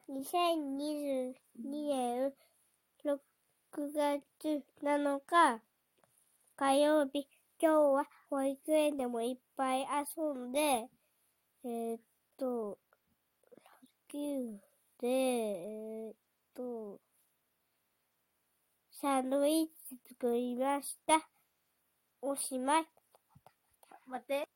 2022年6月7日火曜日。今日は保育園でもいっぱい遊んで、野球で、サンドイッチ作りました。おしまい。待って。